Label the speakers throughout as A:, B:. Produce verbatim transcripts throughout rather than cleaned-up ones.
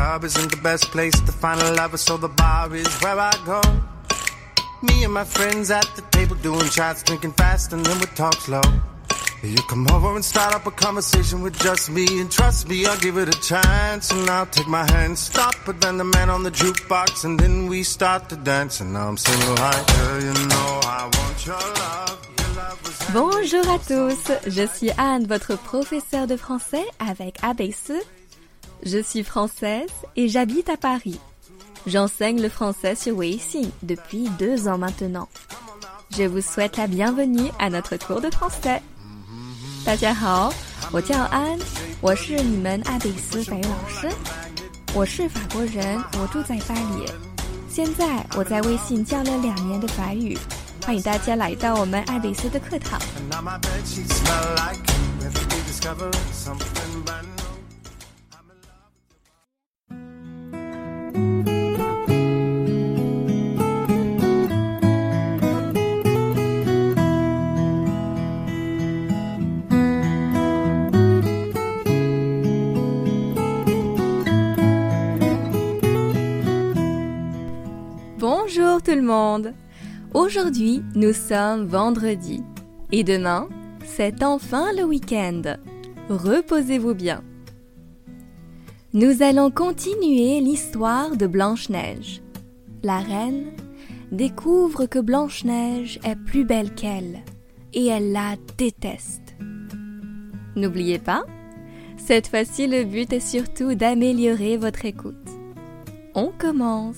A: club isn't the best place to find a lover, so the bar is where I go. Me and my friends at the table doing shots, drinking fast, and then we talk slow. You come over and start up a conversation with just me, and trust me, I'll give it a chance. And I'll take my hand, stop, but then the man on the jukebox, and then we start to dance. And now I'm singing like, girl, you know I want your love.
B: Bonjour à tous, je suis Anne, votre professeure de français avec A B C. Je suis française et j'habite à Paris. J'enseigne le français sur Weixin depuis deux ans maintenant. Je vous souhaite la bienvenue à notre cours de français. 大家好，我叫安，我是你们阿比斯法语老师。我是法国人，我住在巴黎。现在我在微信教了两年的法语，欢迎大家来到我们阿比斯的课堂。Bonjour tout le monde. Aujourd'hui, nous sommes vendredi. Et demain, c'est enfin le week-end. Reposez-vous bien. Nous allons continuer l'histoire de Blanche-Neige. La reine découvre que Blanche-Neige est plus belle qu'elle et elle la déteste. N'oubliez pas, cette fois-ci le but est surtout d'améliorer votre écoute. On commence.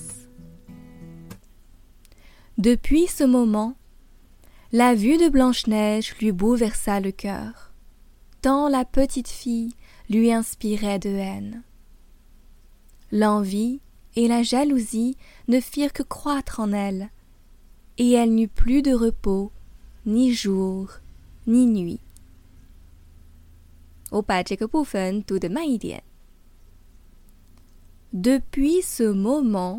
B: Depuis ce moment, la vue de Blanche-Neige lui bouleversa le cœur, tant la petite fille lui inspirait de haine. L'envie et la jalousie ne firent que croître en elle, et elle n'eut plus de repos, ni jour, ni nuit. 我把这个部分读得慢一点。Depuis ce moment,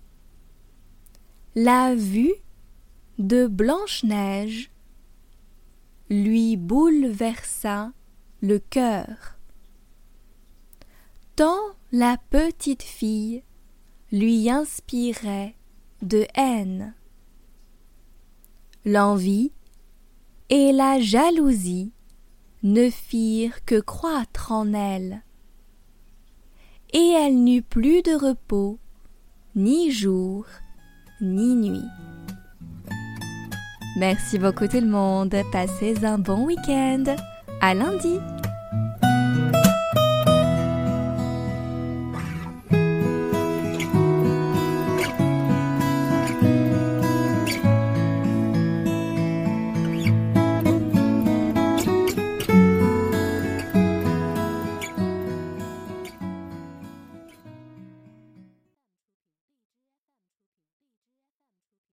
B: la vue de Blanche-Neige lui bouleversa le cœur, tant la petite fille lui inspirait de haine. L'envie et la jalousie ne firent que croître en elle, et elle n'eut plus de repos, ni jour, ni nuit. Merci beaucoup tout le monde. Passez un bon week-end. À lundi.